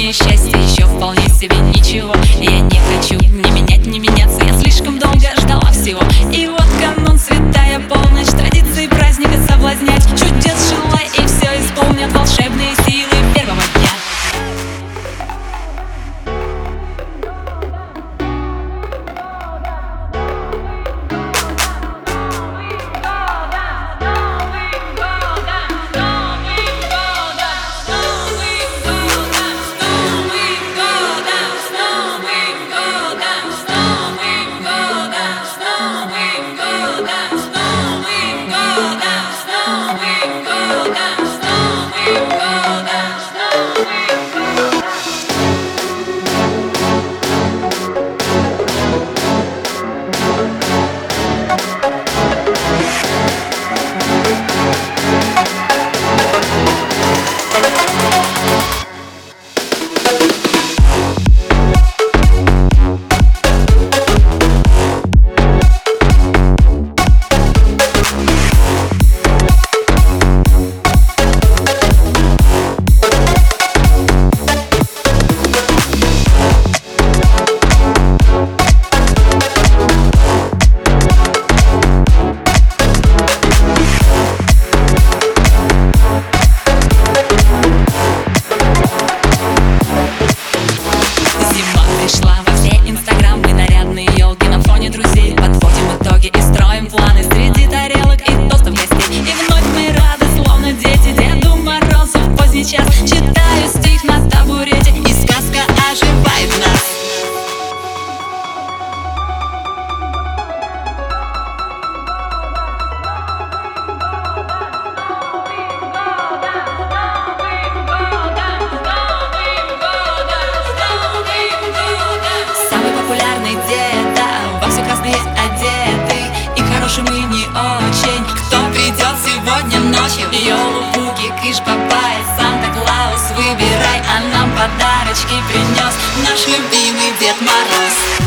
и счастье еще вполне себе ничего. Я не хочу ни менять, ни меняться, я слишком долго ждала всего. И вот канун, святая полночь, традиции праздника соблазнять. Чудес желай, и все исполнят волшебные силы первого дня. Читаю стих на табурете, и сказка оживает в нас. Самый популярный деда, во все красные одеты, и хорошим и не очень. Кто придет сегодня ночью? Ёлу-пуки, кыш-бабай, Санта-Клаус, выбирай, а нам подарочки принес наш любимый Дед Мороз.